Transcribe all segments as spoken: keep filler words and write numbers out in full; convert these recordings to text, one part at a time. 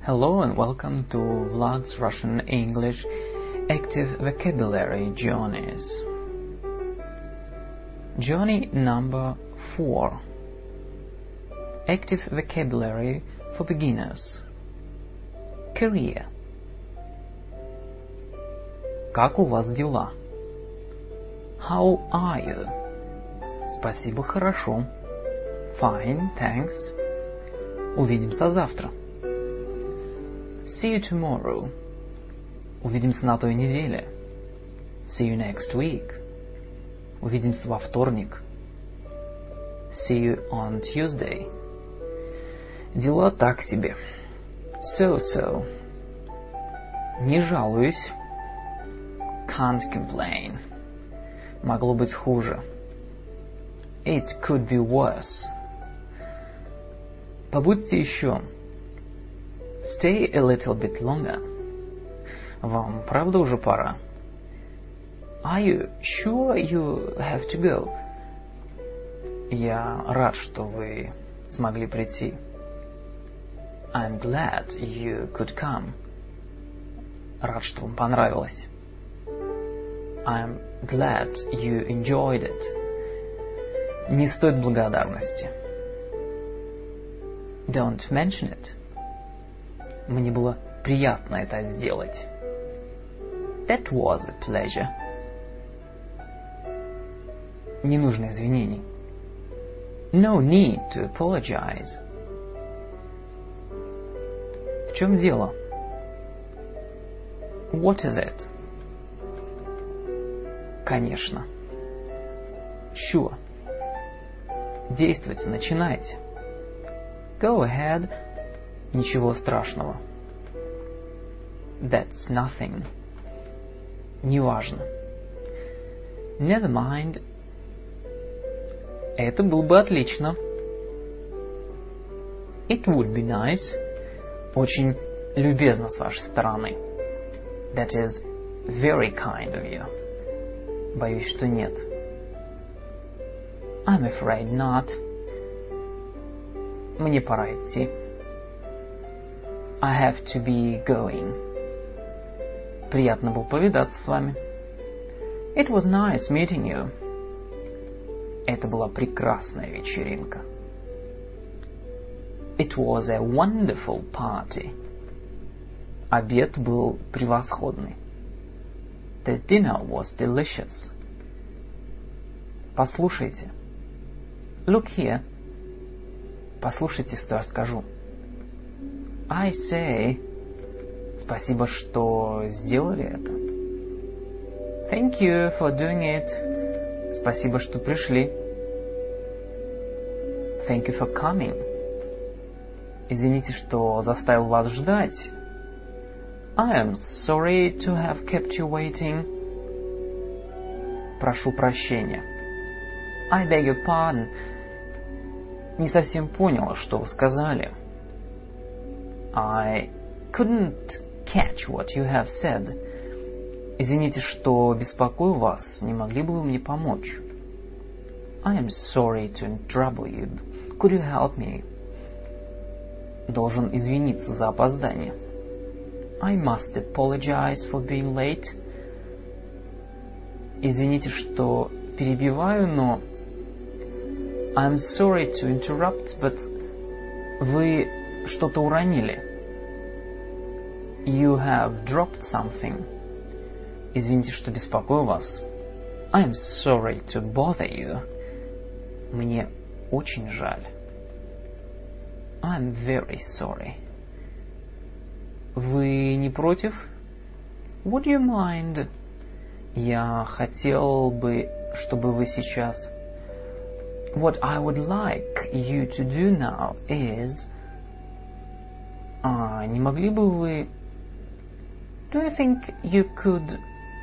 Hello and welcome to Vlad's Russian English Active Vocabulary Journeys. Journey number four. Active Vocabulary for Beginners. Career. Как у вас дела? How are you? Спасибо, хорошо. Fine, thanks. Увидимся завтра. See you tomorrow. Увидимся на той неделе. See you next week. Увидимся во вторник. See you on Tuesday. Дела так себе. So-so. Не жалуюсь. Can't complain. Могло быть хуже. It could be worse. Побудьте еще. Stay a little bit longer. Вам правда уже пора? Are you sure you have to go? Я рад, что вы смогли прийти. I'm glad you could come. Рад, что вам понравилось. I'm glad you enjoyed it. Не стоит благодарности. Don't mention it. Мне было приятно это сделать. That was a pleasure. Не нужно извинений. No need to apologize. В чем дело? What is it? Конечно. Sure. Действуйте, начинайте. Go ahead. Ничего страшного. That's nothing. Неважно. Never mind. Это было бы отлично. It would be nice. Очень любезно с вашей стороны. That is very kind of you. Боюсь, что нет. I'm afraid not. Мне пора идти. I have to be going. Приятно было повидаться с вами. It was nice meeting you. Это была прекрасная вечеринка. It was a wonderful party. Обед был превосходный. The dinner was delicious. Послушайте. Look here. Послушайте, что я скажу. I say, спасибо, что сделали это. Thank you for doing it. Спасибо, что пришли. Thank you for coming. Извините, что заставил вас ждать. I am sorry to have kept you waiting. Прошу прощения. I beg your pardon. Не совсем поняла, что вы сказали. I couldn't catch what you have said. Извините, что беспокою вас. Не могли бы вы мне помочь? I am sorry to trouble you. Could you help me? Должен извиниться за опоздание. I must apologize for being late. Извините, что перебиваю, но... I'm sorry to interrupt, but... Вы что-то уронили. You have dropped something. Извините, что беспокою вас. I'm sorry to bother you. Мне очень жаль. I'm very sorry. Вы не против? Would you mind? Я хотел бы, чтобы вы сейчас... What I would like you to do now is... А, не могли бы вы... Do you think you could...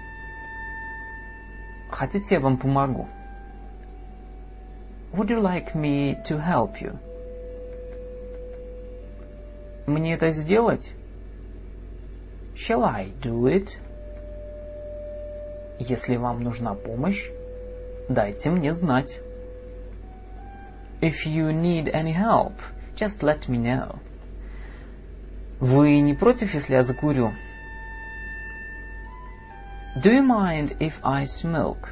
Хотите, я вам помогу? Would you like me to help you? Мне это сделать? Shall I do it? Если вам нужна помощь, дайте мне знать. If you need any help, just let me know. Вы не против, если я закурю? Do you mind if I smoke?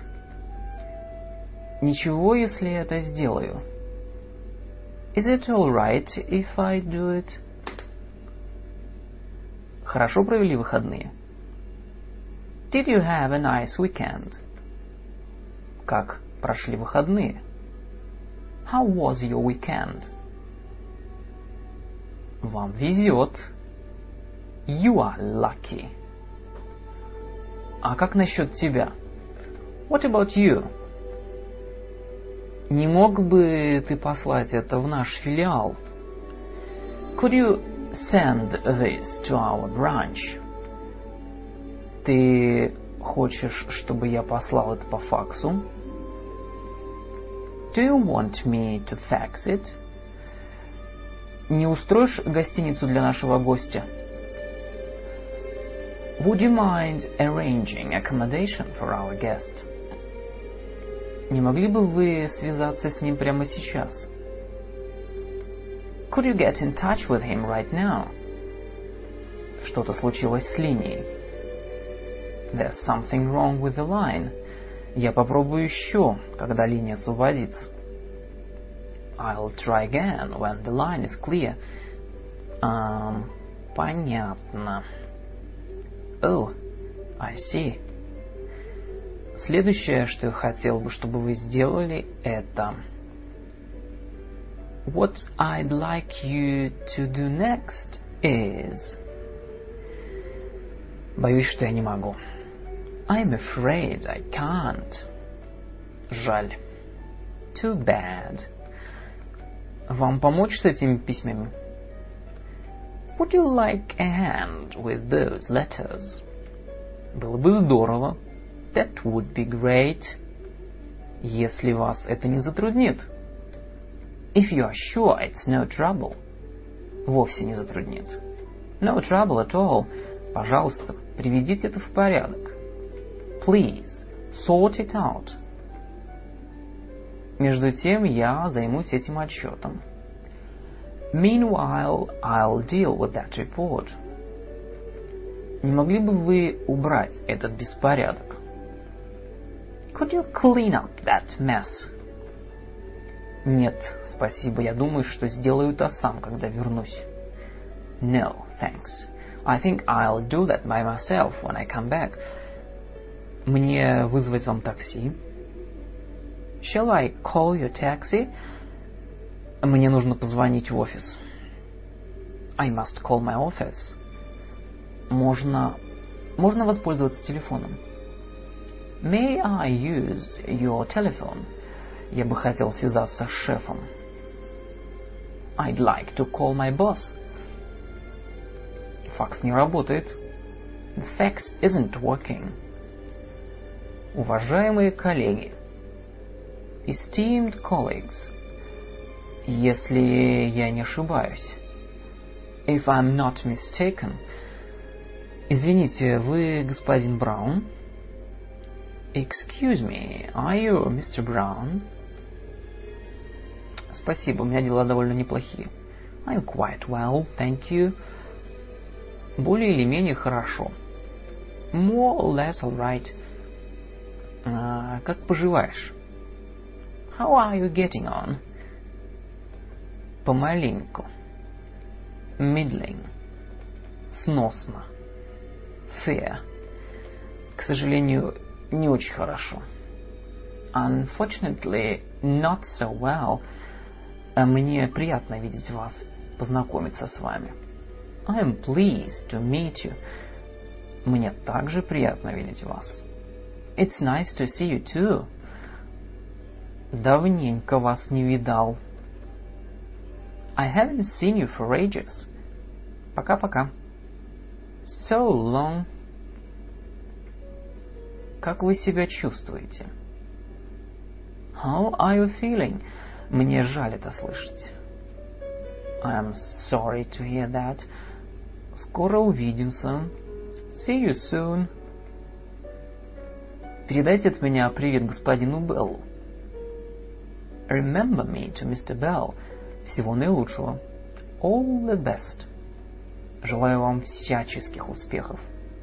Ничего, если я это сделаю. Is it all right if I do it? Хорошо провели выходные? Did you have a nice weekend? Как прошли выходные? How was your weekend? Вам везет. You are lucky. А как насчет тебя? What about you? Не мог бы ты послать это в наш филиал? Could you send this to our branch? Ты хочешь, чтобы я послал это по факсу? Do you want me to fax it? Не устроишь гостиницу для нашего гостя? Would you mind arranging accommodation for our guest? Не могли бы вы связаться с ним прямо сейчас? Could you get in touch with him right now? Что-то случилось с линией. There's something wrong with the line. Я попробую еще, когда линия освободится. I'll try again when the line is clear. Um, понятно. Oh, I see. Следующее, что я хотел бы, чтобы вы сделали, это... What I'd like you to do next is... Боюсь, что я не могу. I'm afraid I can't. Жаль. Too bad. Вам помочь с этими письмами? Would you like a hand with those letters? Было бы здорово. That would be great. Если вас это не затруднит. If you are sure it's no trouble. Вовсе не затруднит. No trouble at all. Пожалуйста, приведите это в порядок. Please, sort it out. Между тем я займусь этим отчетом. Meanwhile, I'll deal with that report. Не могли бы вы убрать этот беспорядок? Could you clean up that mess? Нет, спасибо. Я думаю, что сделаю это сам, когда вернусь. No, thanks. I think I'll do that by myself when I come back. Мне вызвать вам такси? Shall I call your taxi? Мне нужно позвонить в офис. I must call my office. Можно... Можно воспользоваться телефоном? May I use your telephone? Я бы хотел связаться с шефом. I'd like to call my boss. Факс не работает. The fax isn't working. Уважаемые коллеги. Esteemed colleagues. Если я не ошибаюсь. If I'm not mistaken. Извините, вы господин Браун? Excuse me, are you мистер Brown? Спасибо, у меня дела довольно неплохие. I'm quite well, thank you. Более или менее хорошо. More or less all right. А, как поживаешь? How are you getting on? Помаленьку. Middling. Сносно. Fair. К сожалению, не очень хорошо. Unfortunately, not so well. Мне приятно видеть вас, познакомиться с вами. I am pleased to meet you. Мне также приятно видеть вас. It's nice to see you too. Давненько вас не видал. I haven't seen you for ages. Пока-пока. So long. Как вы себя чувствуете? How are you feeling? Мне жаль это слышать. I am sorry to hear that. Скоро увидимся. See you soon. Передайте от меня привет господину Беллу. Remember me to мистер Bell. Всего наилучшего. All the best. Желаю вам всяческих успехов.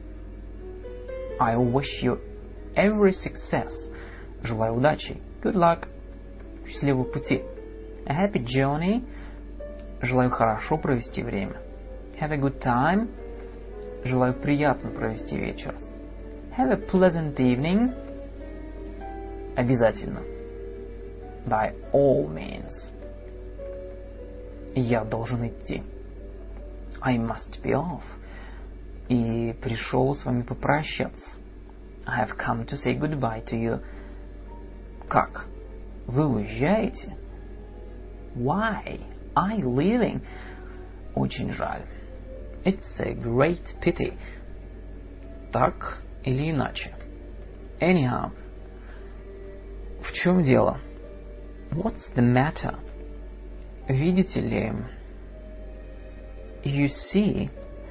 I wish you every success. Желаю удачи. Good luck. Счастливого пути. A happy journey. Желаю хорошо провести время. Have a good time. Желаю приятно провести вечер. Have a pleasant evening. Обязательно. By all means. Я должен идти. I must be off. И пришел с вами попрощаться. I have come to say goodbye to you. Как? Вы уезжаете? Why are you leaving? Очень жаль. It's a great pity. Так или иначе. Anyhow. В чем дело? What's the matter? Видите ли, you see,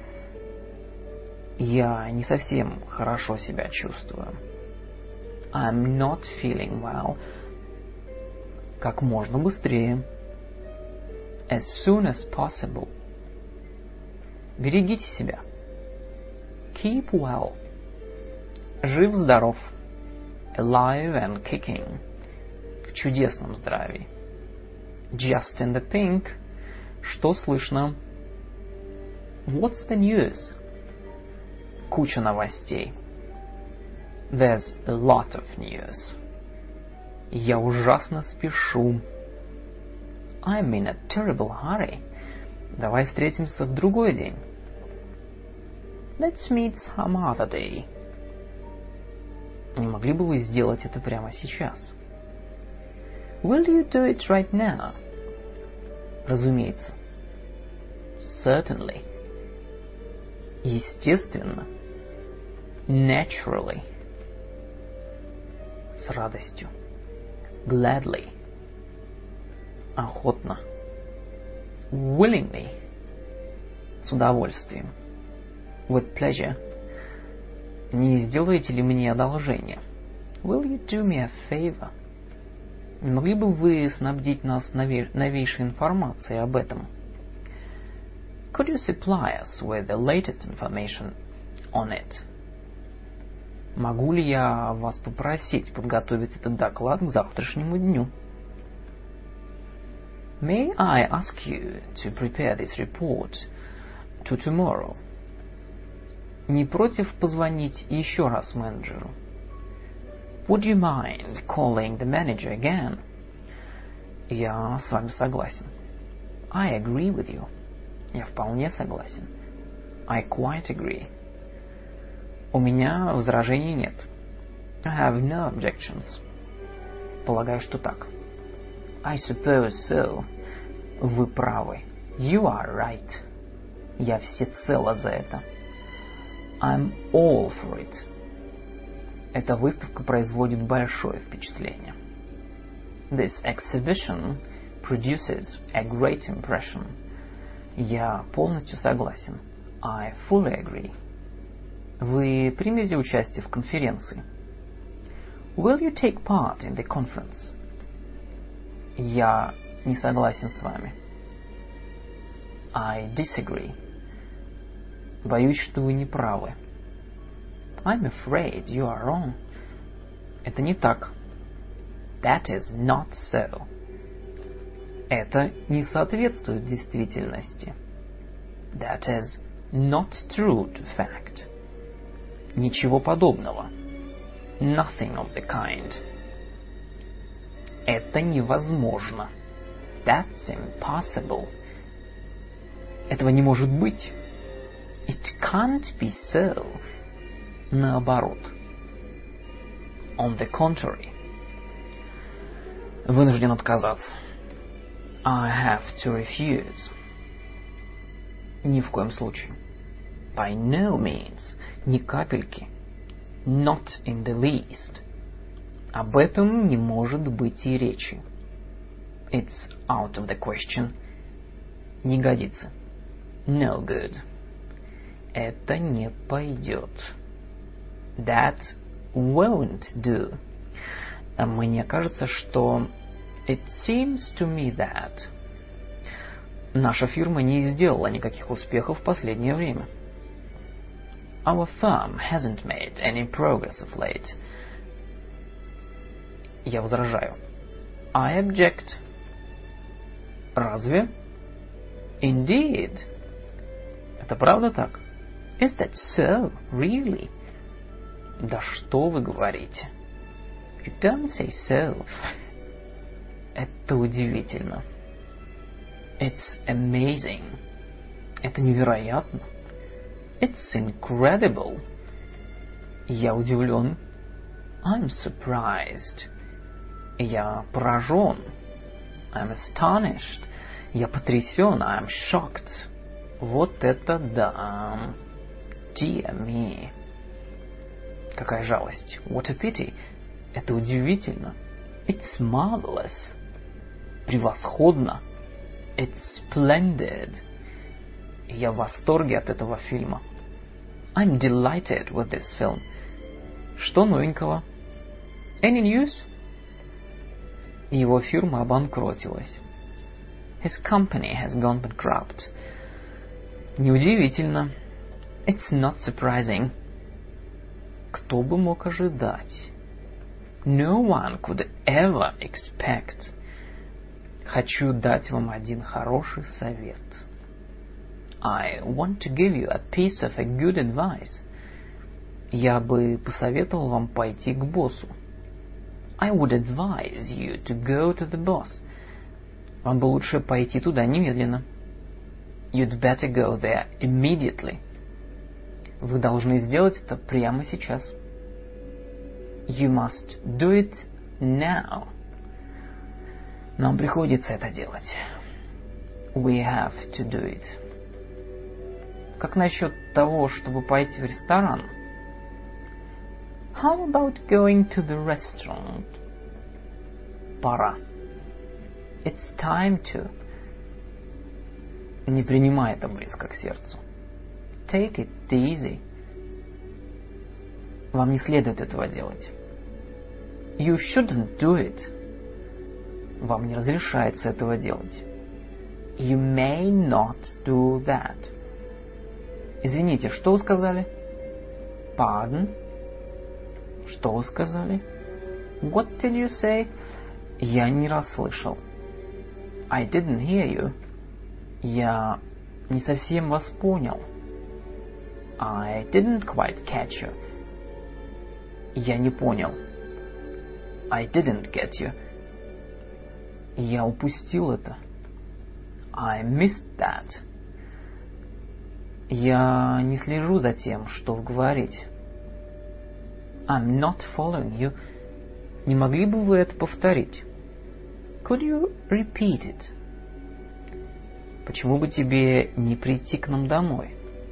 я не совсем хорошо себя чувствую. I'm not feeling well. Как можно быстрее. As soon as possible. Берегите себя. Keep well. Жив-здоров. Alive and kicking. В чудесном здравии. Just in the pink. Что слышно? What's the news? Куча новостей. There's a lot of news. Я ужасно спешу. I'm in a terrible hurry. Давай встретимся в другой день. Let's meet some other day. Не могли бы вы сделать это прямо сейчас? Will you do it right now? Разумеется. Certainly. Естественно. Naturally. С радостью. Gladly. Охотно. Willingly. С удовольствием. With pleasure. Не сделаете ли мне одолжение? Will you do me a favor? Не могли бы вы снабдить нас новей, новейшей информацией об этом? Could you supply us with the latest information on it? Могу ли я вас попросить подготовить этот доклад к завтрашнему дню? May I ask you to prepare this report to tomorrow? Не против позвонить еще раз менеджеру? Would you mind calling the manager again? Я с вами согласен. I agree with you. Я вполне согласен. I quite agree. У меня возражений нет. I have no objections. Полагаю, что так. I suppose so. Вы правы. You are right. Я всецело за это. I'm all for it. Эта выставка производит большое впечатление. This exhibition produces a great impression. Я полностью согласен. I fully agree. Вы примете участие в конференции? Will you take part in the conference? Я не согласен с вами. I disagree. Боюсь, что вы не правы. I'm afraid you are wrong. Это не так. That is not so. Это не соответствует действительности. That is not true to fact. Ничего подобного. Nothing of the kind. Это невозможно. That's impossible. Этого не может быть. It can't be so. Наоборот. On the contrary. Вынужден отказаться. I have to refuse. Ни в коем случае. By no means. Ни капельки. Not in the least. Об этом не может быть и речи. It's out of the question. Не годится. No good. Это не пойдет. That won't do. Мне кажется, что... It seems to me that... Наша фирма не сделала никаких успехов в последнее время. Our firm hasn't made any progress of late. Я возражаю. I object. Разве? Indeed. Это правда так? Is that so, really? Да что вы говорите? You don't say so. Это удивительно. It's amazing. Это невероятно. It's incredible. Я удивлен. I'm surprised. Я поражен. I'm astonished. Я потрясен. I'm shocked. Вот это да. Dear me. Какая жалость. What a pity. Это удивительно. It's marvelous. Превосходно. It's splendid. Я в восторге от этого фильма. I'm delighted with this film. Что новенького? Any news? Его фирма обанкротилась. His company has gone bankrupt. Неудивительно. It's not surprising. Кто бы мог ожидать? No one could ever expect. Хочу дать вам один хороший совет. I want to give you a piece of a good advice. Я бы посоветовал вам пойти к боссу. I would advise you to go to the boss. Вам бы лучше пойти туда немедленно. You'd better go there immediately. Вы должны сделать это прямо сейчас. You must do it now. Нам приходится это делать. We have to do it. Как насчет того, чтобы пойти в ресторан? How about going to the restaurant? Пора. It's time to. Не принимай это близко к сердцу. Take it easy. Вам не следует этого делать. You shouldn't do it. Вам не разрешается этого делать. You may not do that. Извините, что вы сказали? Pardon? Что вы сказали? What did you say? Я не расслышал. I didn't hear you. Я не совсем вас понял. I didn't quite catch you. Я не понял. I didn't get you. Я упустил это. I missed that. Я не слежу за тем, что вы говорите. I'm not following you. Не могли бы вы это повторить? Could you repeat it? Почему бы тебе не прийти к нам домой?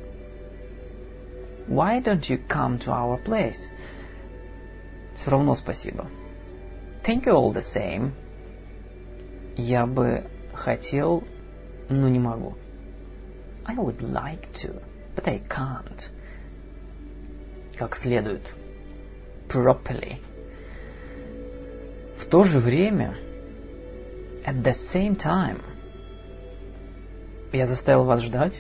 Why don't you come to our place? Все равно спасибо. Thank you all the same. Я бы хотел, но не могу. I would like to, but I can't. Как следует. Properly. В то же время, at the same time, я заставил вас ждать?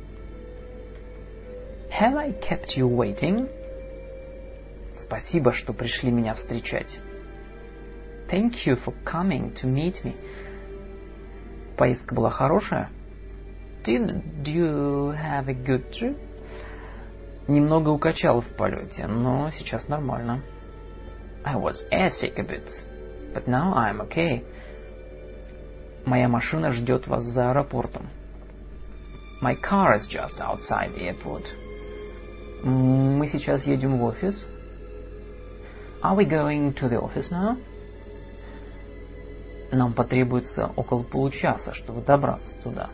Have I kept you waiting? Спасибо, что пришли меня встречать. Thank you for coming to meet me. Поездка была хорошая? Did you have a good trip? Немного укачало в полете, но сейчас нормально. I was airsick a bit, but now I'm okay. Моя машина ждет вас за аэропортом. My car is just outside the airport. Мы сейчас едем в офис. Are we going to the office now? Нам потребуется около получаса, чтобы добраться туда.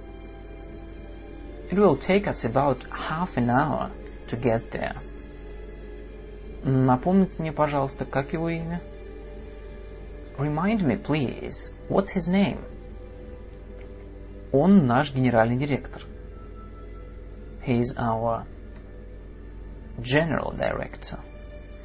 It will take us about half an hour to get there. Напомните мне, пожалуйста, как его имя? Remind me, please, what's his name? Он наш генеральный директор. He's our general director.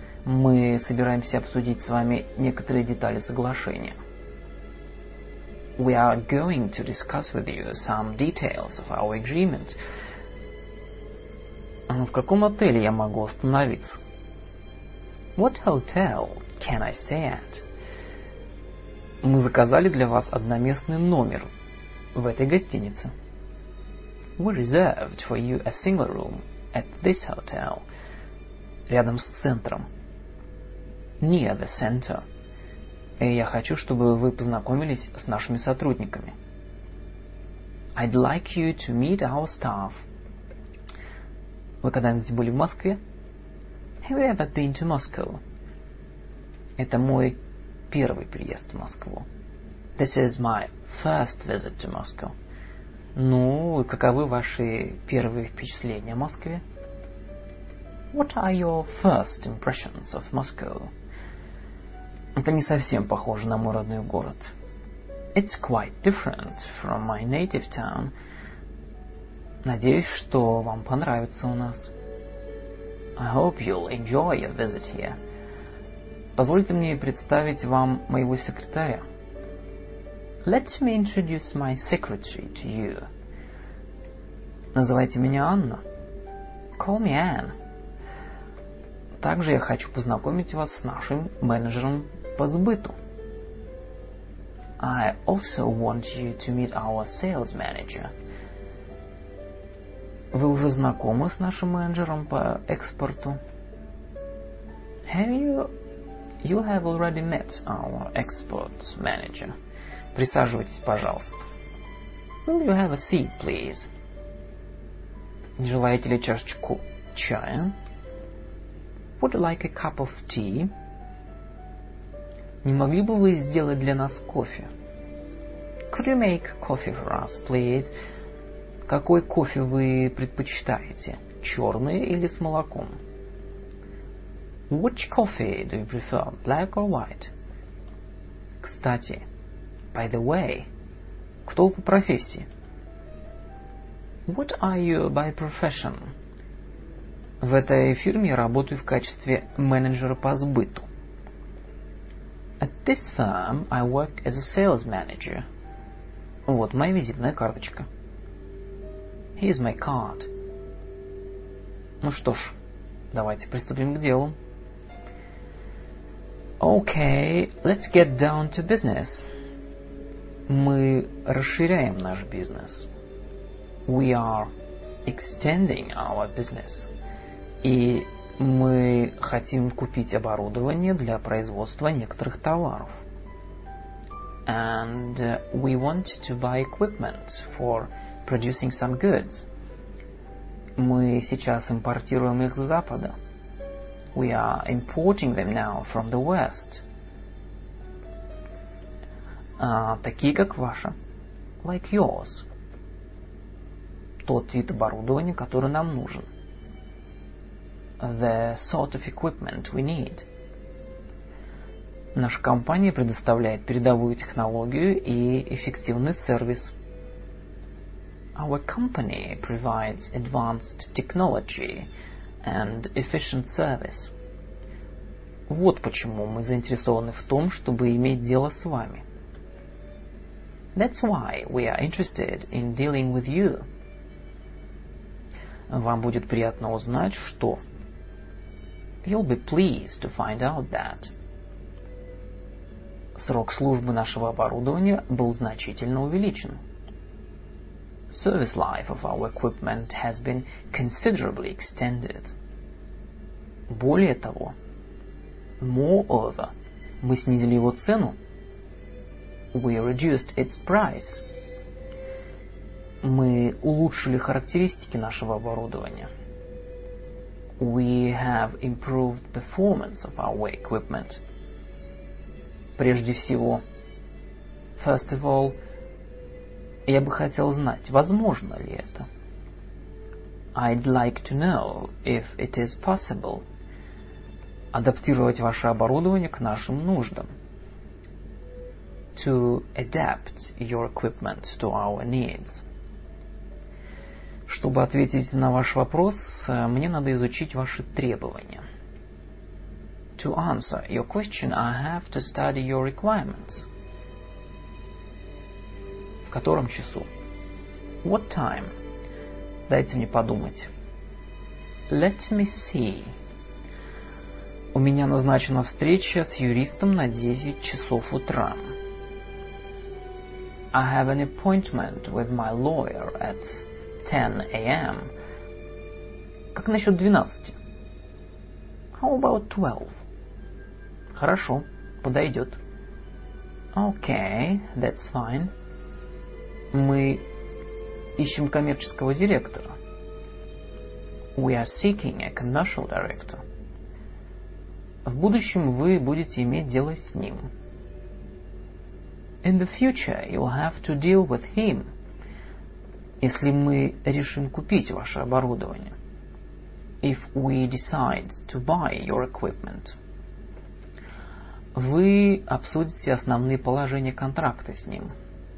Мы собираемся обсудить с вами некоторые детали соглашения. we are going to discuss with you some details of our agreement. А в каком отеле я могу остановиться? What hotel can I stay at? Мы заказали для вас одноместный номер в этой гостинице. We reserved for you a single room at this hotel. Рядом с центром. Near the center. И я хочу, чтобы вы познакомились с нашими сотрудниками. I'd like you to meet our staff. Вы когда-нибудь были в Москве? Have you ever been to Moscow? Это мой первый приезд в Москву. This is my first visit to Moscow. Ну, каковы ваши первые впечатления о Москве? What are your first impressions of Moscow? Это не совсем похоже на мой родной город. It's quite different from my native town. Надеюсь, что вам понравится у нас. I hope you'll enjoy your visit here. Позвольте мне представить вам моего секретаря. Let me introduce my secretary to you. Называйте меня Анна. Call me Anne. Также я хочу познакомить вас с нашим менеджером по сбыту. I also want you to meet our sales manager. Вы уже знакомы с нашим менеджером по экспорту? Have you... You have already met our export manager. Присаживайтесь, пожалуйста. Will you have a seat, please? Не желаете ли чашечку чая? Would you like a cup of tea? Не могли бы вы сделать для нас кофе? Could you make coffee for us, please? Какой кофе вы предпочитаете? Черный или с молоком? Which coffee do you prefer, black or white? Кстати, by the way, кто вы по профессии? What are you by profession? В этой фирме я работаю в качестве менеджера по сбыту. At this firm, I work as a sales manager. Вот моя визитная карточка. Here's my card. Ну что ж, давайте приступим к делу. Okay, let's get down to business. Мы расширяем наш бизнес. We are extending our business. И мы хотим купить оборудование для производства некоторых товаров. And uh, we want to buy equipment for producing some goods. Мы сейчас импортируем их с Запада. We are importing them now from the West. А, такие, как ваша. Like yours. Тот вид оборудования, который нам нужен. The sort of equipment we need. Наша компания предоставляет передовую технологию и эффективный сервис. Our company provides advanced technology and efficient service. Вот почему мы заинтересованы в том, чтобы иметь дело с вами. That's why we are interested in dealing with you. Вам будет приятно узнать, что... You'll be pleased to find out that... Срок службы нашего оборудования был значительно увеличен. Service life of our equipment has been considerably extended. Более того, moreover, мы снизили его цену. We reduced its price. Мы улучшили характеристики нашего оборудования. We have improved performance of our equipment. Прежде всего, first of all, я бы хотел знать, возможно ли это. I'd like to know if it is possible. Адаптировать ваше оборудование к нашим нуждам. To adapt your equipment to our needs. Чтобы ответить на ваш вопрос, мне надо изучить ваши требования. To answer your question, I have to study your requirements. В котором часу? What time? Дайте мне подумать. Let me see. У меня назначена встреча с юристом на десять часов утра. I have an appointment with my lawyer at ten a.m. Как насчет двенадцати? How about twelve? Хорошо, подойдет. Okay, that's fine. Мы ищем коммерческого директора. We are seeking a commercial director. В будущем вы будете иметь дело с ним. In the future you'll have to deal with him. Если мы решим купить ваше оборудование. If we decide to buy your equipment. Вы обсудите основные положения контракта с ним.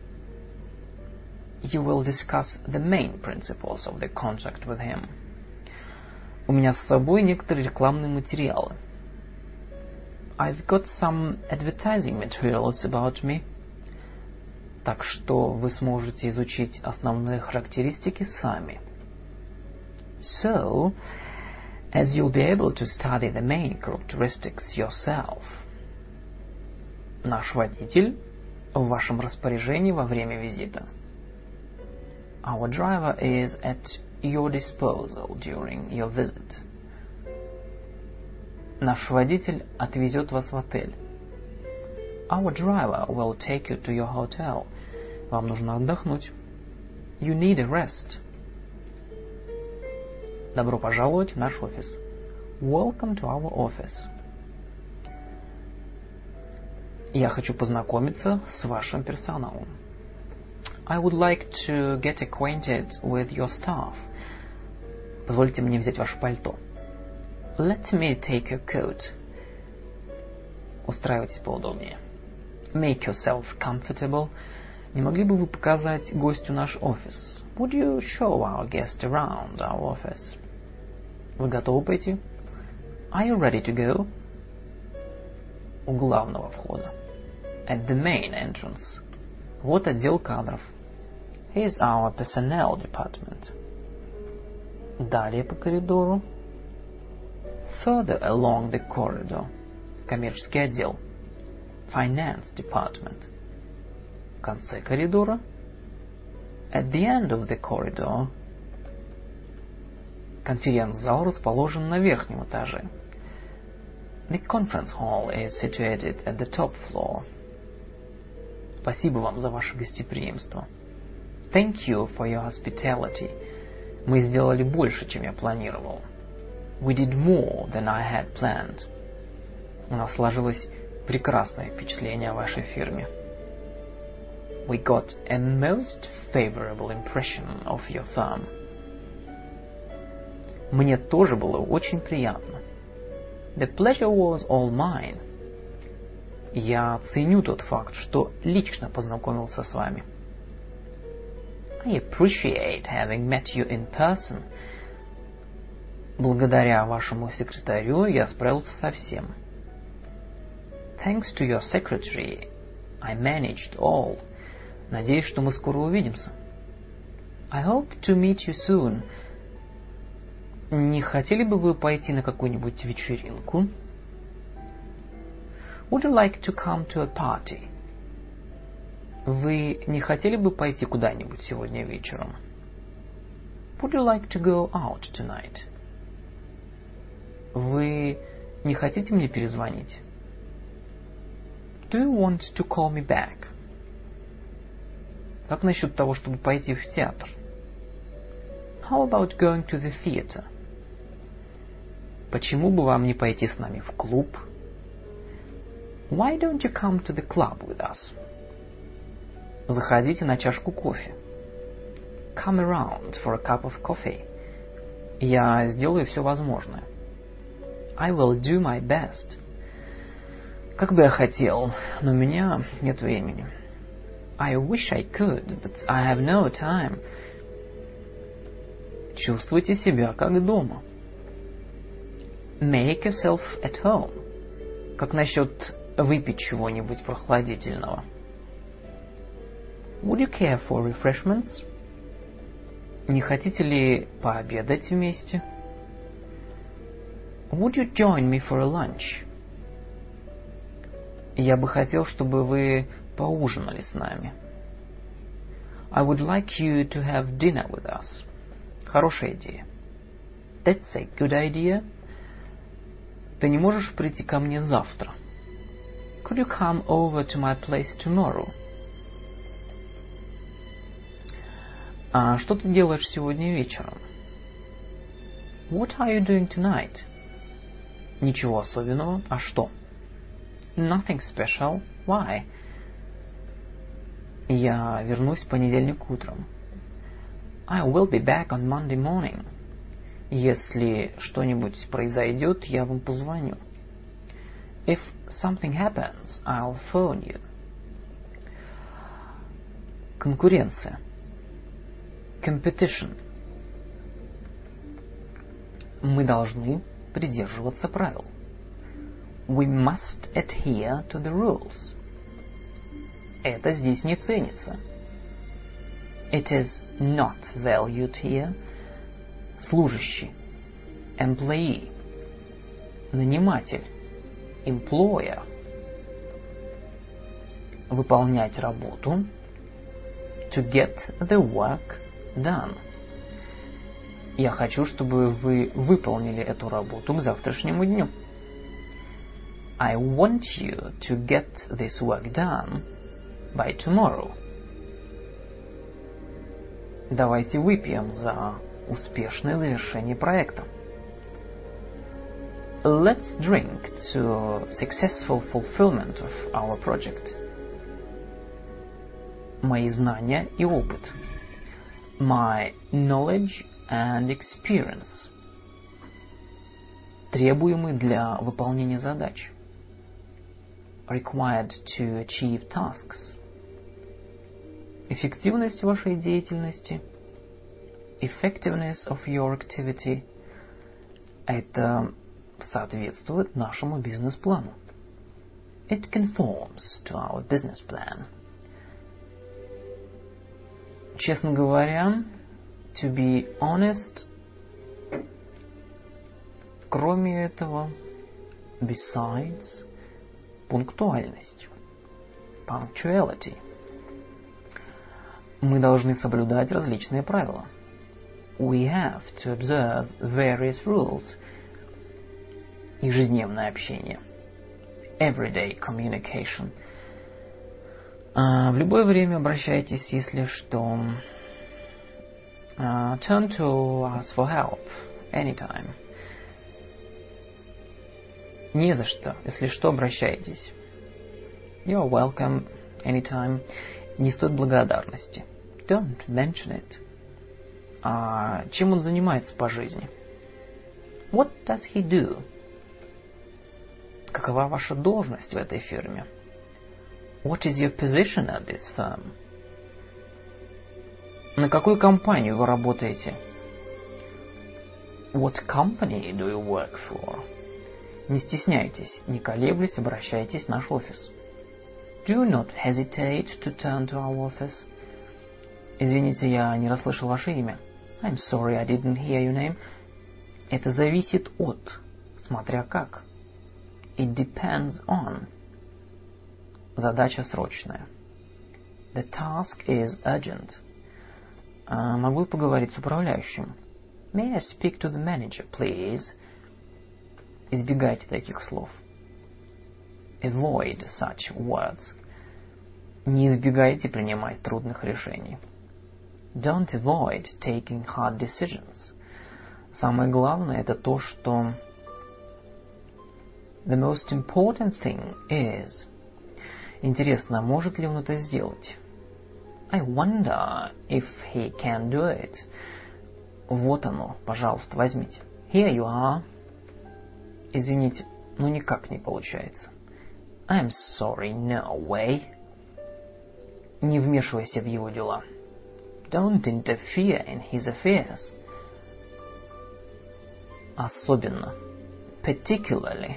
You will discuss the main principles of the contract with him. У меня с собой некоторые рекламные материалы. I've got some advertising materials about me. Так что вы сможете изучить основные характеристики сами. So, as you'll be able to study the main characteristics yourself. Наш водитель в вашем распоряжении во время визита. Our driver is at your disposal during your visit. Наш водитель отвезет вас в отель. Our driver will take you to your hotel. Вам нужно отдохнуть. You need a rest. Добро пожаловать в наш офис. Welcome to our office. Я хочу познакомиться с вашим персоналом. I would like to get acquainted with your staff. Позвольте мне взять ваше пальто. Let me take your coat. Устраивайтесь поудобнее. Make yourself comfortable. Не могли бы вы показать гостю наш офис? Would you show our guest around our office? Вы готовы пойти? Are you ready to go? У главного входа. At the main entrance. Вот отдел кадров. Here's our personnel department. Далее по коридору. Further along the corridor. Коммерческий отдел. Finance department. В конце коридора. At the end of the corridor. Конференц-зал расположен на верхнем этаже. The conference hall is situated at the top floor. Спасибо вам за ваше гостеприимство. Thank you for your hospitality. Мы сделали больше, чем я планировал. We did more than I had planned. У нас сложилось прекрасное впечатление о вашей фирме. We got a most favorable impression of your firm. Мне тоже было очень приятно. The pleasure was all mine. Я ценю тот факт, что лично познакомился с вами. I appreciate having met you in person. Благодаря вашему секретарю я справился со всем. Thanks to your secretary, I managed all. Надеюсь, что мы скоро увидимся. I hope to meet you soon. Не хотели бы вы пойти на какую-нибудь вечеринку? Would you like to come to a party? Вы не хотели бы пойти куда-нибудь сегодня вечером? Would you like to go out tonight? Вы не хотите мне перезвонить? Do you want to call me back? Как насчет того, чтобы пойти в театр? How about going to the theater? Почему бы вам не пойти с нами в клуб? Why don't you come to the club with us? Заходите на чашку кофе. Come around for a cup of coffee. Я сделаю все возможное. I will do my best. Как бы я хотел, но у меня нет времени. I wish I could, but I have no time. Чувствуйте себя как дома. Make yourself at home. Как насчет выпить чего-нибудь прохладительного? Would you care for refreshments? Не хотите ли пообедать вместе? Would you join me for a lunch? Я бы хотел, чтобы вы поужинали с нами. I would like you to have dinner with us. Хорошая идея. That's a good idea. Ты не можешь прийти ко мне завтра? Could you come over to my place tomorrow? А что ты делаешь сегодня вечером? What are you doing tonight? Ничего особенного. А что? Nothing special. Why? Я вернусь в понедельник утром. I will be back on Monday morning. Если что-нибудь произойдет, я вам позвоню. If something happens, I'll phone you. Конкуренция. Competition. Мы должны придерживаться правил. We must adhere to the rules. Это здесь не ценится. It is not valued here. Служащий. Employee. Наниматель. Employer. Выполнять работу. To get the work done. Я хочу, чтобы вы выполнили эту работу к завтрашнему дню. I want you to get this work done by tomorrow. Давайте выпьем за успешное завершение проекта. Let's drink to successful fulfillment of our project. Мои знания и опыт. My knowledge and experience. Требуемый для выполнения задач. Required to achieve tasks. Эффективность вашей деятельности. Effectiveness of your activity. Это соответствует нашему бизнес-плану. It conforms to our business plan. Честно говоря, to be honest, кроме этого, besides, пунктуальность. Punctuality. Мы должны соблюдать различные правила. We have to observe various rules. Ежедневное общение. Everyday communication. Uh, в любое время обращайтесь, если что. Uh, turn to us for help anytime. Не за что. Если что, обращайтесь. You're welcome anytime. Не стоит благодарности. Don't mention it. А чем он занимается по жизни? What does he do? Какова ваша должность в этой фирме? What is your position at this firm? На какую компанию вы работаете? What company do you work for? Не стесняйтесь, не колеблясь, обращайтесь в наш офис. Do not hesitate to turn to our office. Извините, я не расслышал ваше имя. I'm sorry, I didn't hear your name. Это зависит от, смотря как. It depends on. Задача срочная. The task is urgent. А, могу я поговорить с управляющим? May I speak to the manager, please? Избегайте таких слов. Avoid such words. Не избегайте принимать трудных решений. Don't avoid taking hard decisions. Самое главное это то, что The most important thing is. Интересно, может ли он это сделать? I wonder if he can do it. Вот оно, пожалуйста, возьмите. Here you are. Извините, но никак не получается. I'm sorry, no way. Не вмешивайся в его дела. Don't interfere in his affairs. Особенно. Particularly.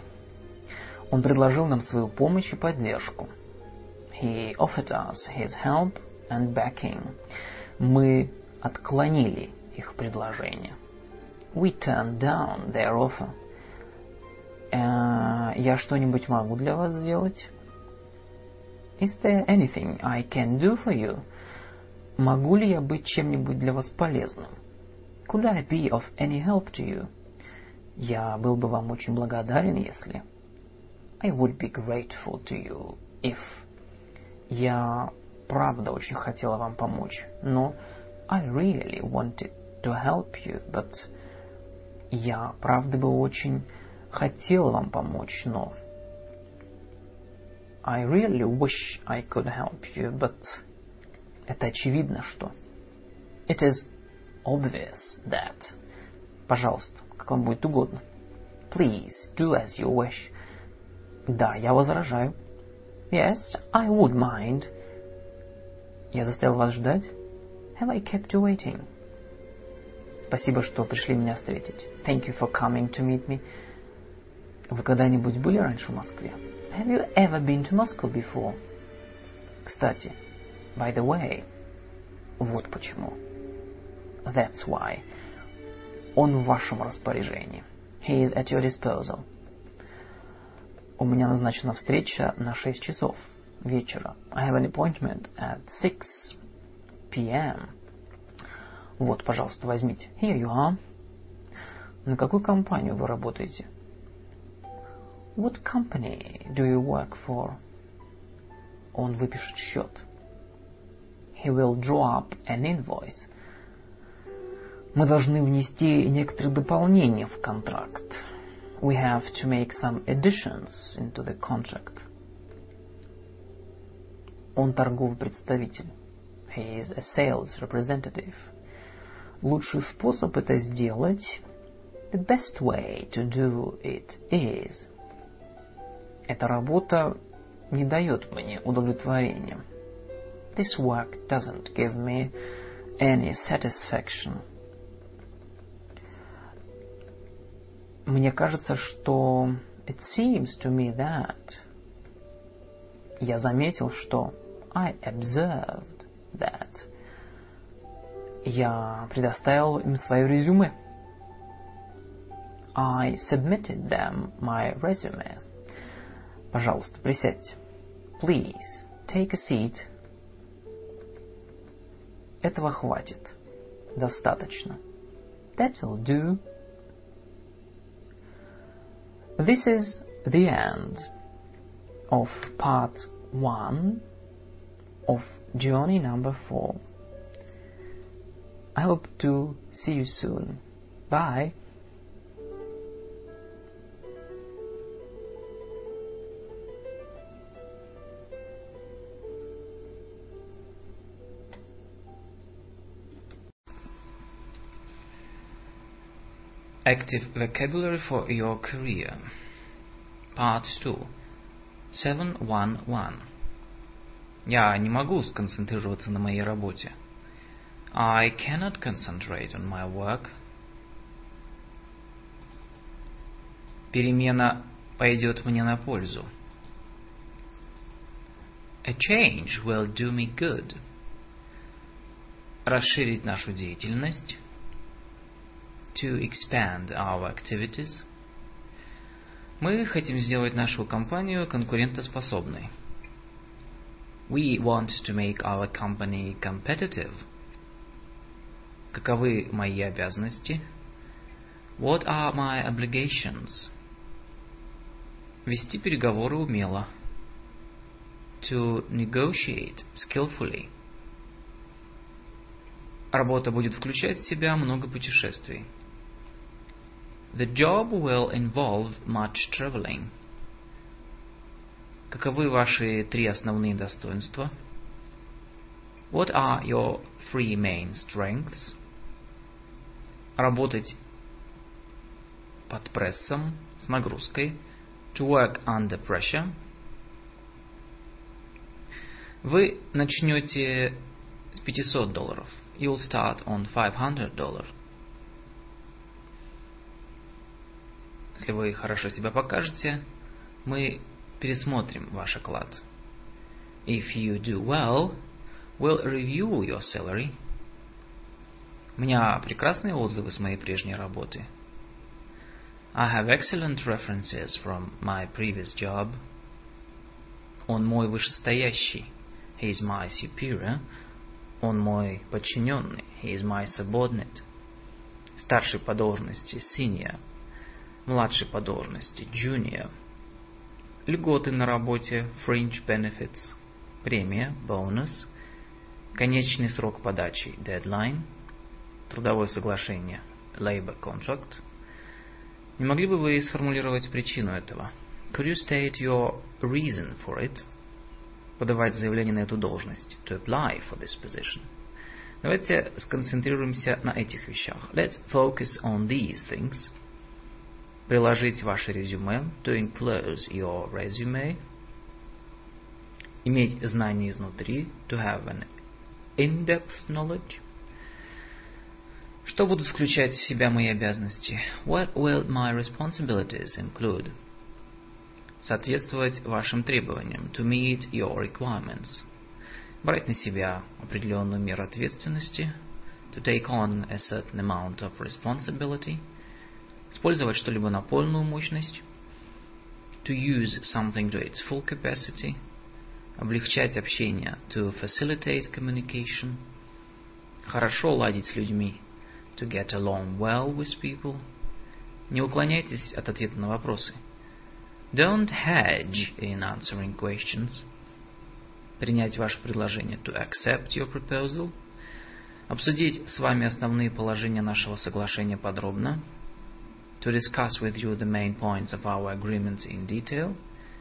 Он предложил нам свою помощь и поддержку. He offered us his help and backing. Мы отклонили их предложение. We turned down their offer. Uh, я что-нибудь могу для вас сделать? Is there anything I can do for you? Могу ли я быть чем-нибудь для вас полезным? Could I be of any help to you? Я был бы вам очень благодарен, если... I would be grateful to you if... Я правда очень хотела вам помочь, но... I really wanted to help you, but... Я правда бы очень хотела вам помочь, но... I really wish I could help you, but... Это очевидно, что... It is obvious that... Пожалуйста, как вам будет угодно. Please, do as you wish. Да, я возражаю. Yes, I would mind. Я заставил вас ждать? Have I kept you waiting? Спасибо, что пришли меня встретить. Thank you for coming to meet me. Вы когда-нибудь были раньше в Москве? Have you ever been to Moscow before? Кстати, by the way, вот почему. That's why. Он в вашем распоряжении. He is at your disposal. У меня назначена встреча на шесть часов вечера. I have an appointment at six p.m. Вот, пожалуйста, возьмите. Here you are. На какую компанию вы работаете? What company do you work for? Он выпишет счет. He will draw up an invoice. Мы должны внести некоторые дополнения в контракт. We have to make some additions into the contract. Он торговый представитель. He is a sales representative. Лучший способ это сделать, the best way to do it is. Эта работа не дает мне удовлетворения. This work doesn't give me any satisfaction. Мне кажется, что it seems to me that. Я заметил, что I observed that. Я предоставил им свое резюме. I submitted them my resume. Пожалуйста, присядьте. Please, take a seat. Этого хватит. Достаточно. That'll do. This is the end of part one of journey number four. I hope to see you soon. Bye. Active vocabulary for your career. Part two. seven one one. Я не могу сконцентрироваться на моей работе. I cannot concentrate on my work. Перемена пойдет мне на пользу. A change will do me good. Расширить нашу деятельность. To expand our activities. Мы хотим сделать нашу компанию конкурентоспособной. We want to make our company competitive. Каковы мои обязанности? What are my obligations? Вести переговоры умело. To negotiate skillfully. Работа будет включать в себя много путешествий. The job will involve much traveling. Каковы ваши три основные достоинства? What are your three main strengths? Работать под прессом, с нагрузкой. To work under pressure. Вы начнете с пятисот долларов. You'll start on five hundred dollars. Если вы хорошо себя покажете, мы пересмотрим ваш оклад. If you do well, will review your salary. У меня прекрасные отзывы с моей прежней работы. I have excellent references from my previous job. Он мой вышестоящий. He is my superior. Он мой подчиненный. He is my subordinate. Старший по должности senior. Младший по должности junior. Льготы на работе fringe benefits. Премия bonus. Конечный срок подачи deadline. Трудовое соглашение labor contract. Не могли бы вы сформулировать причину этого? Could you state your reason for it? Подавать заявление на эту должность. To apply for this position. Давайте сконцентрируемся на этих вещах. Let's focus on these things. Приложить ваше резюме. To enclose your resume. Иметь знания изнутри. To have an in-depth knowledge. Что будут включать в себя мои обязанности? What will my responsibilities include? Соответствовать вашим требованиям. To meet your requirements. Брать на себя определенную меру ответственности. To take on a certain amount of responsibility. Использовать что-либо на полную мощность. To use something to its full capacity. Облегчать общение. To facilitate communication. Хорошо ладить с людьми. To get along well with people. Не уклоняйтесь от ответа на вопросы. Don't hedge in answering questions. Принять ваше предложение. To accept your proposal. Обсудить с вами основные положения нашего соглашения подробно. To discuss with you the main points of our agreement in detail.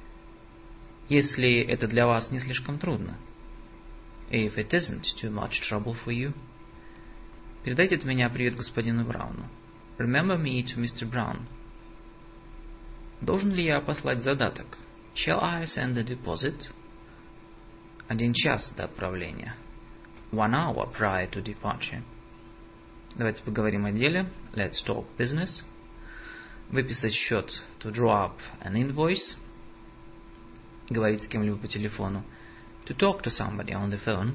Если это для вас не слишком трудно. If it isn't too much trouble for you. Передайте от меня привет господину Брауну. Remember me to Mister Brown. Должен ли я послать задаток? Shall I send a deposit? Один час до отправления. One hour prior to departure. Давайте поговорим о деле. Let's talk business. Выписать счет. To draw up an invoice. Говорить с кем-либо по телефону. To talk to somebody on the phone.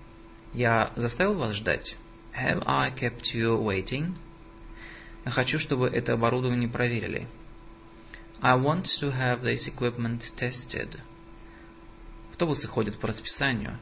Я заставил вас ждать? Have I kept you waiting? Я хочу, чтобы это оборудование проверили. I want to have this equipment tested. Автобусы ходят по расписанию.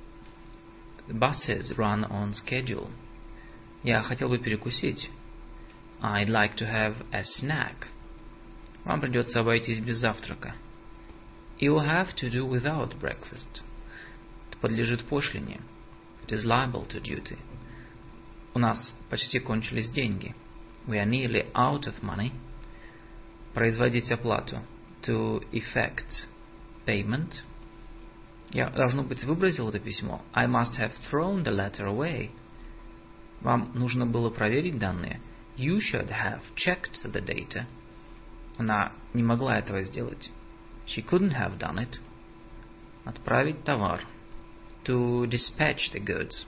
The buses run on schedule. Я хотел бы перекусить. I'd like to have a snack. Вам придется обойтись без завтрака. You'll have to do without breakfast. Это подлежит пошлине. It is liable to duty. У нас почти кончились деньги. We are nearly out of money. Производить оплату. To effect payment. Я, должно быть, выбросил это письмо. I must have thrown the letter away. Вам нужно было проверить данные. You should have checked the data. Она не могла этого сделать. She couldn't have done it. Отправить товар. To dispatch the goods.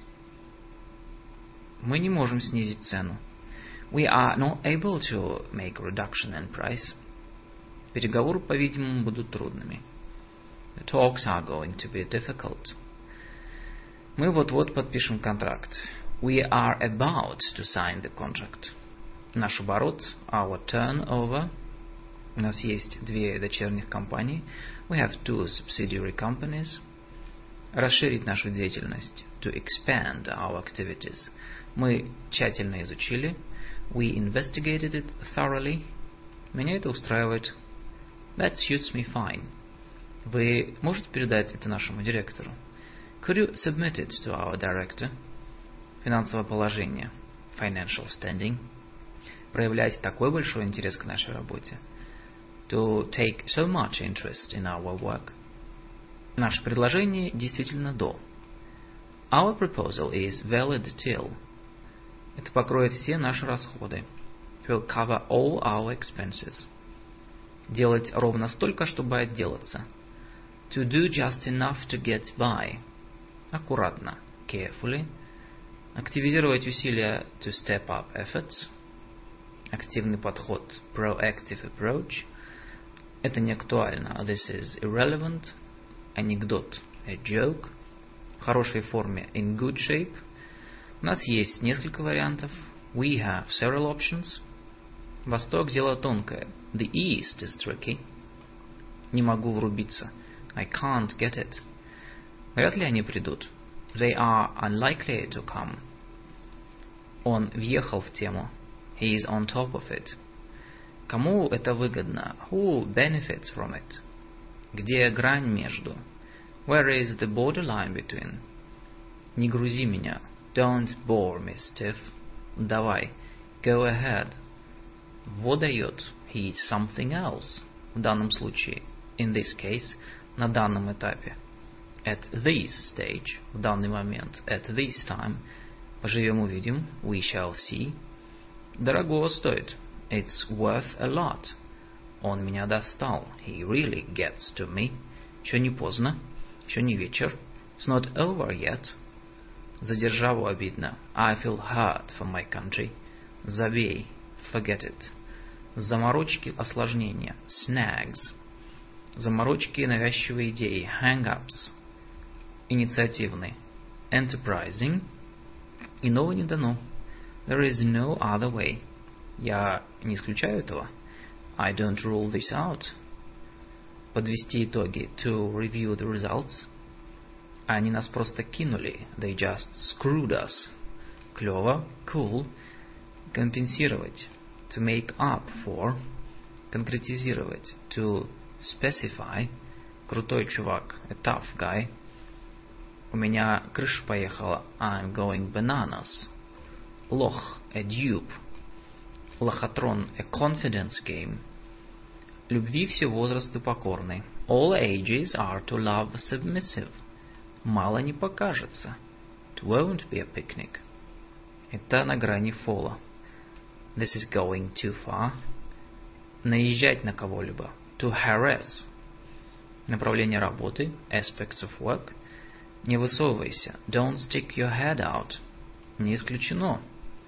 Мы не можем снизить цену. We are not able to make a reduction in price. Переговоры, по-видимому, будут трудными. The talks are going to be difficult. Мы вот-вот подпишем контракт. We are about to sign the contract. Наш оборот, our turnover. У нас есть две дочерних компании. We have two subsidiary companies. Расширить нашу деятельность. To expand our activities. Мы тщательно изучили. We investigated it thoroughly. Меня это устраивает. That suits me fine. Вы можете передать это нашему директору? Could you submit it to our director? Финансовое положение. Financial standing. Проявлять такой большой интерес к нашей работе. To take so much interest in our work. Наше предложение действительно до. Our proposal is valid till. Это покроет все наши расходы. It will cover all our expenses. Делать ровно столько, чтобы отделаться. To do just enough to get by. Аккуратно. Carefully. Активизировать усилия. To step up efforts. Активный подход. Proactive approach. Это не актуально. This is irrelevant. Анекдот. A joke. в хорошей форме, in good shape. У нас есть несколько вариантов. We have several options. Восток – дело тонкое. The East is tricky. Не могу врубиться. I can't get it. Вряд ли они придут. They are unlikely to come. Он въехал в тему. He is on top of it. Кому это выгодно? Who benefits from it? Где грань между? Where is the borderline between? Не грузи меня. Don't bore me, Steve. Давай. Go ahead. Во дает. He is something else. В данном случае. In this case. На данном этапе. At this stage. В данный момент. At this time. Поживем увидим. We shall see. Дорого стоит. It's worth a lot. Он меня достал. He really gets to me. Еще не поздно. Еще не вечер. It's not over yet. За державу обидно. I feel hurt for my country. Забей. Forget it. Заморочки, осложнения. Snags. Заморочки, навязчивые идеи. Hang-ups. Инициативный. Enterprising. Иного не дано. There is no other way. Я не исключаю этого. I don't rule this out. Подвести итоги. To review the results. Они нас просто кинули. They just screwed us. Клево. Cool. Компенсировать. To make up for. Конкретизировать. To specify. Крутой чувак. A tough guy. У меня крыша поехала. I'm going bananas. Лох. A dupe. Лохотрон. A confidence game. Любви все возрасты покорны. All ages are to love submissive. Мало не покажется. It won't be a picnic. Это на грани фола. This is going too far. Наезжать на кого-либо. To harass. Направление работы. Aspects of work. Не высовывайся. Don't stick your head out. Не исключено.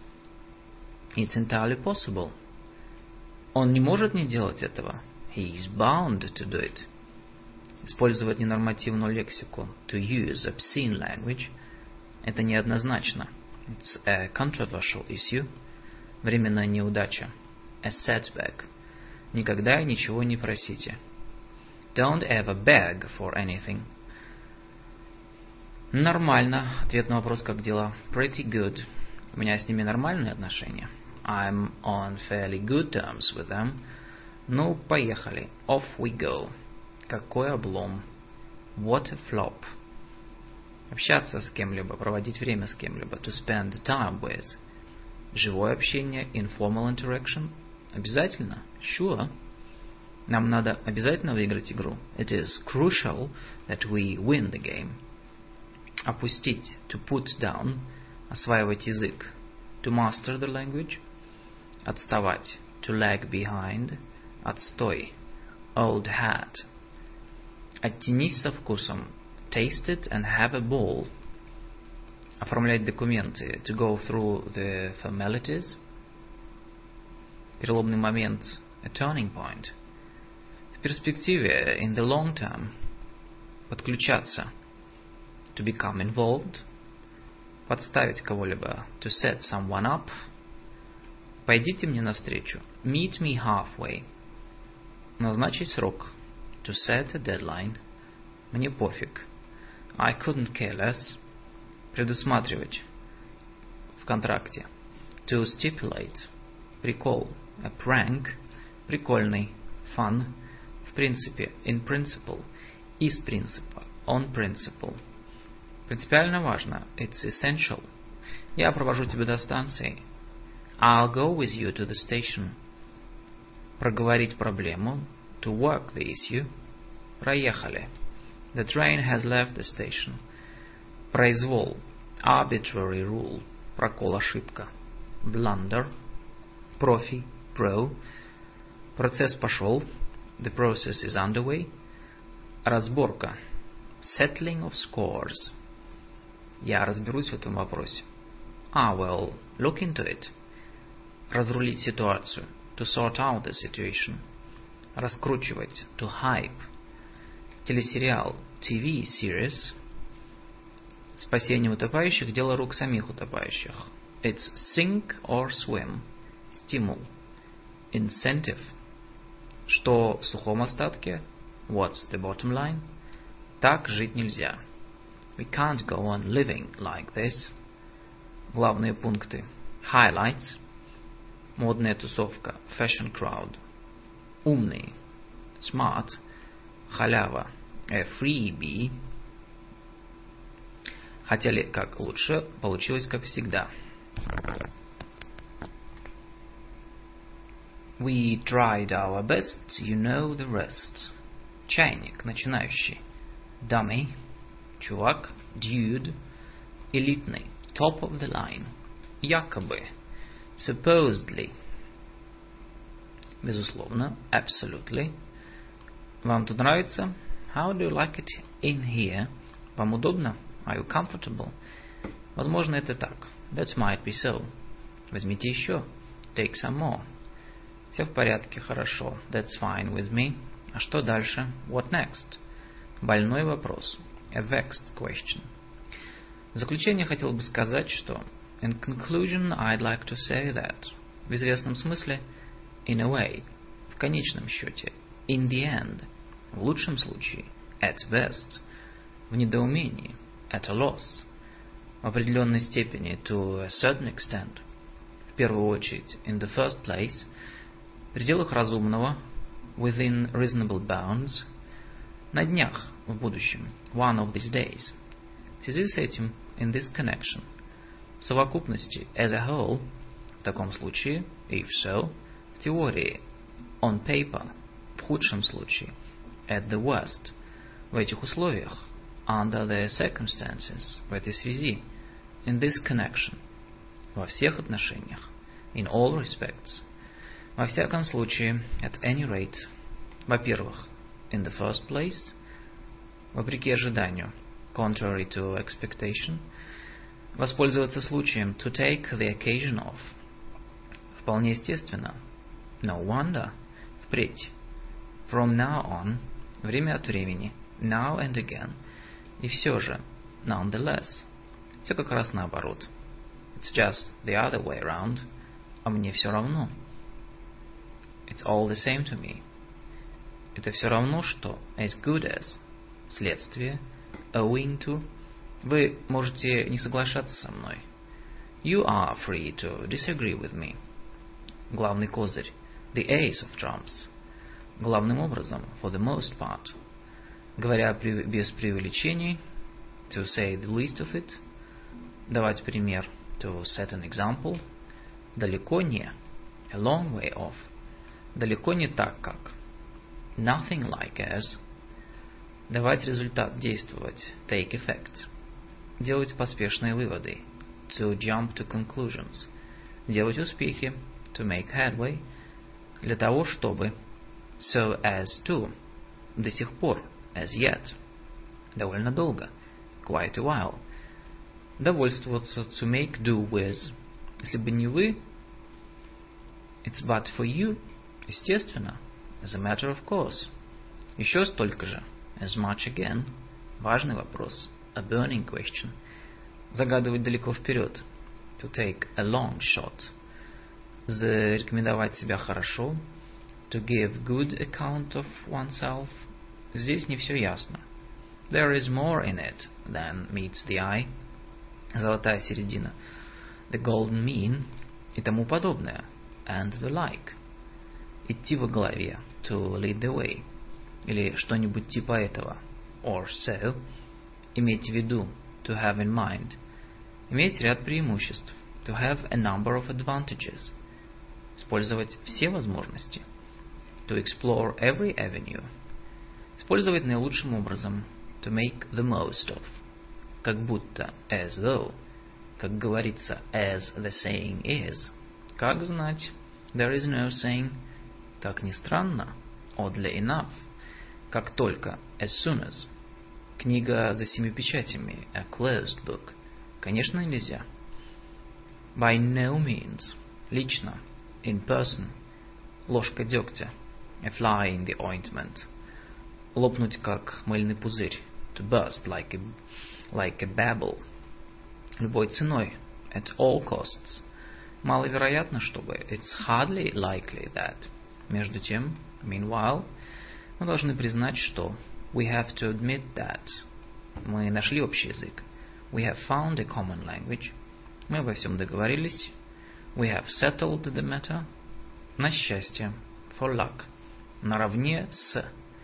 It's entirely possible. Он не может не делать этого. He is bound to do it. Использовать ненормативную лексику. To use obscene language. Это неоднозначно. It's a controversial issue. Временная неудача. A setback. Никогда и ничего не просите. Don't ever beg for anything. Нормально. Ответ на вопрос «как дела?» Pretty good. У меня с ними нормальные отношения. I'm on fairly good terms with them. Ну, поехали. Off we go. Какой облом. What a flop. Общаться с кем-либо, проводить время с кем-либо. To spend time with. Живое общение, informal interaction. Обязательно? Sure. Нам надо обязательно выиграть игру. It is crucial that we win the game. Опустить. To put down. Осваивать язык. To master the language. Отставать. To lag behind. Отстой. Old hat. Оттянись со вкусом. Taste it and have a ball. Оформлять документы. To go through the formalities. Переломный момент. A turning point. В перспективе. In the long term. Подключаться. To become involved. Подставить кого-либо. To set someone up. Пойдите мне навстречу. Meet me halfway. Назначить срок. To set a deadline. Мне пофиг. I couldn't care less. Предусматривать. В контракте. To stipulate. Прикол. A prank. Прикольный. Fun. В принципе. In principle. Из принципа. On principle. Принципиально важно. It's essential. Я провожу тебя до станции. I'll go with you to the station. Проговорить проблему. To work the issue. Проехали. The train has left the station. Произвол. Arbitrary rule. Прокол, ошибка. Blunder. Профи. Pro. Процесс пошел. The process is underway. Разборка. Settling of scores. Я разберусь в этом вопросе. I will look into it. Разрулить ситуацию. To sort out the situation. Раскручивать. To hype. Телесериал. Ти Ви series. Спасение утопающих – дело рук самих утопающих. It's sink or swim. Стимул. Incentive. Что в сухом остатке? What's the bottom line? Так жить нельзя. We can't go on living like this. Главные пункты. Highlights. Модная тусовка. Fashion crowd. Умный. Smart. Халява. A freebie. Хотели как лучше, получилось как всегда. We tried our best, you know the rest. Чайник, начинающий. Dummy. Чувак. Dude. Элитный. Top of the line. Якобы. Supposedly. Безусловно. Absolutely. Вам тут нравится? How do you like it in here? Вам удобно? Are you comfortable? Возможно, это так. That might be so. Возьмите еще. Take some more. Все в порядке, хорошо. That's fine with me. А что дальше? What next? Больной вопрос. A vexed question. В заключение хотел бы сказать, что in conclusion, I'd like to say that. В известном смысле, in a way. В конечном счете, in the end. В лучшем случае, at best. В недоумении, at a loss. В определенной степени, to a certain extent. В первую очередь, in the first place. В пределах разумного, within reasonable bounds. На днях, в будущем, one of these days. В связи с этим, in this connection. В совокупности, as a whole. В таком случае, if so. В теории, on paper. В худшем случае, at the worst. В этих условиях, under the circumstances. В этой связи, in this connection. Во всех отношениях, in all respects. Во всяком случае, at any rate. Во-первых, in the first place. Вопреки ожиданию, contrary to expectation. Воспользоваться случаем, to take the occasion of. Вполне естественно, no wonder. Впредь, from now on. Время от времени, now and again. И все же, nonetheless. Все как раз наоборот. It's just the other way around. А мне все равно. It's all the same to me. Это все равно, что as good as. Следствие. Owing to. Вы можете не соглашаться со мной. You are free to disagree with me. Главный козырь. The ace of trumps. Главным образом, for the most part. Говоря без преувеличений, to say the least of it. Давать пример, to set an example. Далеко не, a long way off. Далеко не так, как. Nothing like as. Давать результат, действовать, take effect. Делать поспешные выводы, to jump to conclusions. Делать успехи, to make headway. Для того, чтобы, so as to. До сих пор, as yet. Довольно долго, quite a while. Довольствоваться, to make do with. Если бы не вы, it's but for you. Естественно, as a matter of course. Еще столько же, as much again. Важный вопрос, a burning question. Загадывать далеко вперед, to take a long shot. Зарекомендовать себя хорошо, to give good account of oneself. Здесь не все ясно. There is more in it than meets the eye. Золотая середина, the golden mean, и тому подобное, and the like. Идти во главе, to lead the way, или что-нибудь типа этого, or so. Иметь в виду, to have in mind. Иметь ряд преимуществ, to have a number of advantages. Использовать все возможности, to explore every avenue. Использовать наилучшим образом, to make the most of. Как будто, as though. Как говорится, as the saying is. Как знать, there is no saying. Как ни странно, oddly enough. Как только, as soon as. Книга за семью печатями, a closed book. Конечно, нельзя. By no means. Лично, in person. Ложка дегтя, a fly in the ointment. Лопнуть как мыльный пузырь, to burst like a, like a bubble. любой ценой, at all costs. Маловероятно, чтобы, it's hardly likely that. Между тем, meanwhile, мы должны признать, что, we have to admit that. Мы нашли общий язык. We have found a common language. Мы обо всем договорились. We have settled the matter. На счастье, for luck. Наравне с,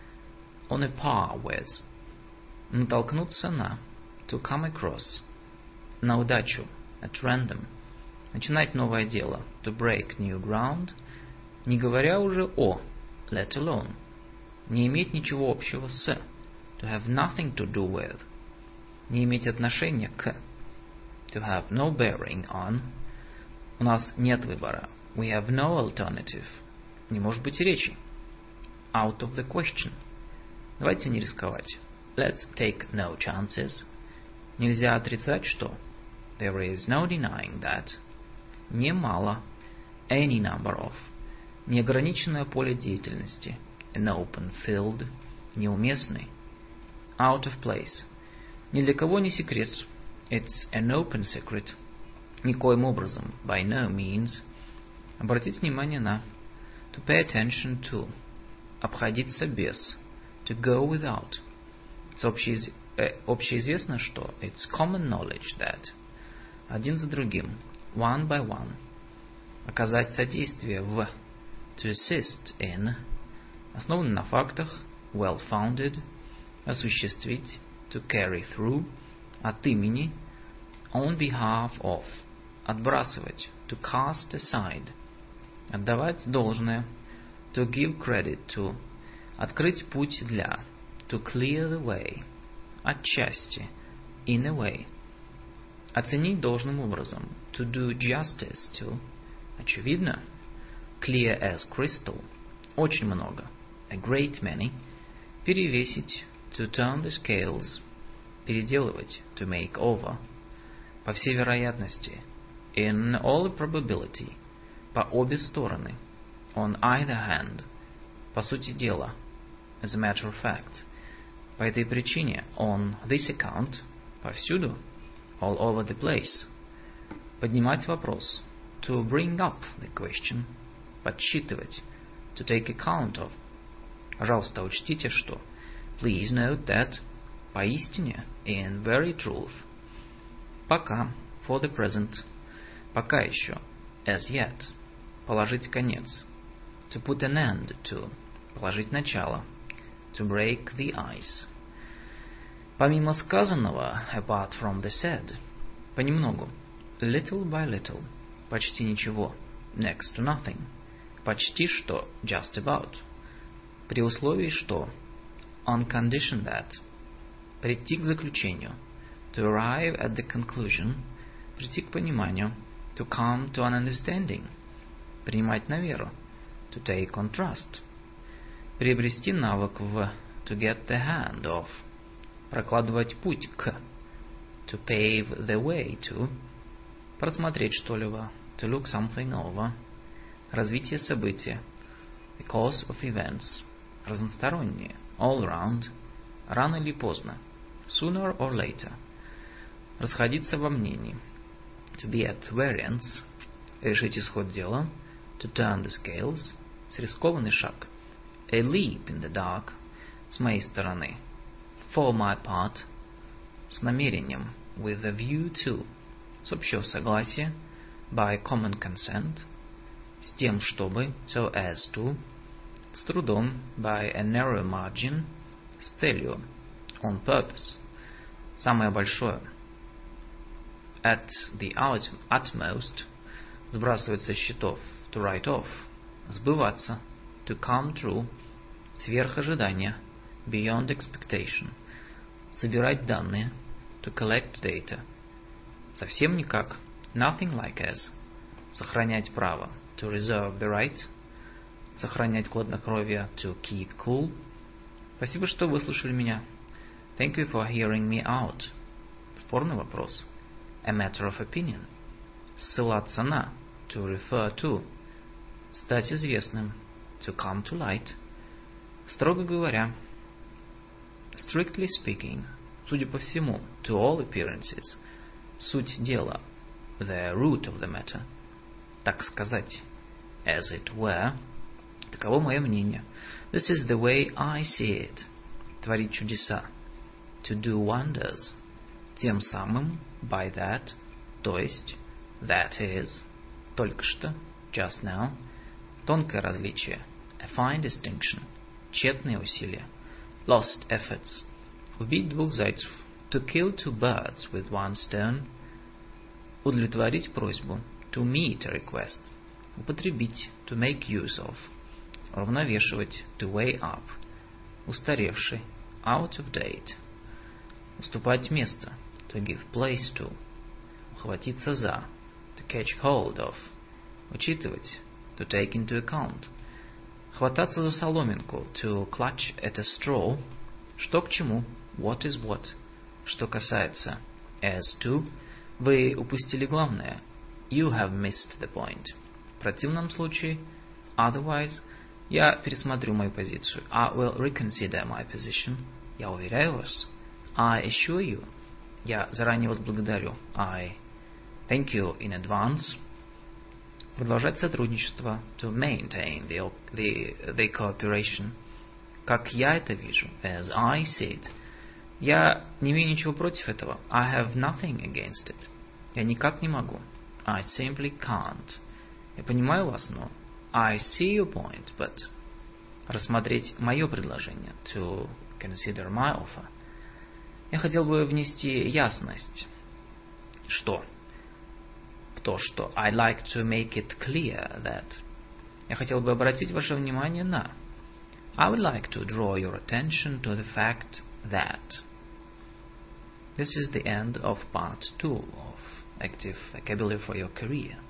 on a par with. Натолкнуться на, to come across. На удачу, at random. Начинать новое дело, to break new ground. Не говоря уже о, let alone. Не иметь ничего общего с, to have nothing to do with. Не иметь отношения к, to have no bearing on. У нас нет выбора, we have no alternative. Не может быть речи, out of the question. Давайте не рисковать, let's take no chances. Нельзя отрицать, что, there is no denying that. Немало, any number of. Неограниченное поле деятельности, an open field. Неуместный, out of place. Ни для кого не секрет, it's an open secret. Никоим образом, by no means. Обратить внимание на, to pay attention to. Обходиться без, to go without. Общеиз... э, общеизвестно, что it's common knowledge that. Один за другим, one by one. Оказать содействие в, to assist in. Основан на фактах, well founded. Осуществить, to carry through. От имени, on behalf of. Отбрасывать, to cast aside. Отдавать должное, to give credit to. Открыть путь для, to clear the way. Отчасти, in a way. Оценить должным образом, to do justice to. Очевидно, clear as crystal. Очень много, a great many. Перевесить, to turn the scales. Переделывать, to make over. По всей вероятности, in all probability. По обе стороны, on either hand. По сути дела, as a matter of fact. По этой причине, on this account. Повсюду, all over the place. Поднимать вопрос, to bring up the question. Подсчитывать, to take account of. Пожалуйста, учтите, что please note that. Поистине, in very truth. Пока, for the present. Пока еще, as yet. Положить конец, to put an end to. Положить начало, to break the ice. Помимо сказанного, apart from the said. Понемногу, little by little. Почти ничего, next to nothing. Почти что, just about. При условии что, on condition that. Прийти к заключению, to arrive at the conclusion. Прийти к пониманию, to come to an understanding. Принимать на веру, to take on trust. Приобрести навык в, to get the hand of. Прокладывать путь к, to pave the way to. Просмотреть что-либо, to look something over. Развитие события, the course of events. Разностороннее, all round. Рано или поздно, sooner or later. Расходиться во мнении, to be at variance. Решить исход дела, to turn the scales. Рискованный шаг, a leap in the dark. С моей стороны, for my part. С намерением, with a view to. С общего согласия, by common consent. С тем, чтобы, so as to. С трудом, by a narrow margin. С целью, on purpose. Самое большое, at the utmost. Сбрасывать со счетов, to write off. Сбываться, to come true. Сверх ожидания, beyond expectation. Собирать данные, to collect data. Совсем никак, nothing like as. Сохранять право, to reserve the right. Сохранять хладнокровие, to keep cool. Спасибо, что выслушали меня. Thank you for hearing me out. Спорный вопрос, a matter of opinion. Ссылаться на, to refer to. Стать известным, to come to light. Строго говоря, strictly speaking. Судя по всему, to all appearances. суть дела, the root of the matter, так сказать, as it were. Таково мое мнение. This is the way I see it. Творить чудеса. To do wonders. Тем самым, by that, то есть, that is, только что, just now, тонкое различие, a fine distinction, тщетные усилия, lost efforts, убить двух зайцев, to kill two birds with one stone, удовлетворить просьбу, to meet a request, употребить, to make use of, уравновешивать, to weigh up, устаревший, out of date, уступать место, to give place to, ухватиться за, to catch hold of, учитывать, to take into account, хвататься за соломинку, to clutch at a straw, что к чему, what is what, что касается, as to, вы упустили главное, you have missed the point. В противном случае, otherwise, я пересмотрю мою позицию, I will reconsider my position. Я уверяю вас, I assure you. Я заранее вас благодарю, I thank you in advance. Продолжать сотрудничество, to maintain the, the, the cooperation. Как я это вижу, as I see it. Я не имею ничего против этого, I have nothing against it. Я никак не могу, I simply can't. Я понимаю вас, но I see your point, but рассмотреть мое предложение, to consider my offer. Я хотел бы внести ясность. Что? В то, что I'd like to make it clear that. Я хотел бы обратить ваше внимание на. I would like to draw your attention to the fact that. This is the end of part two of Active Vocabulary for Your Career.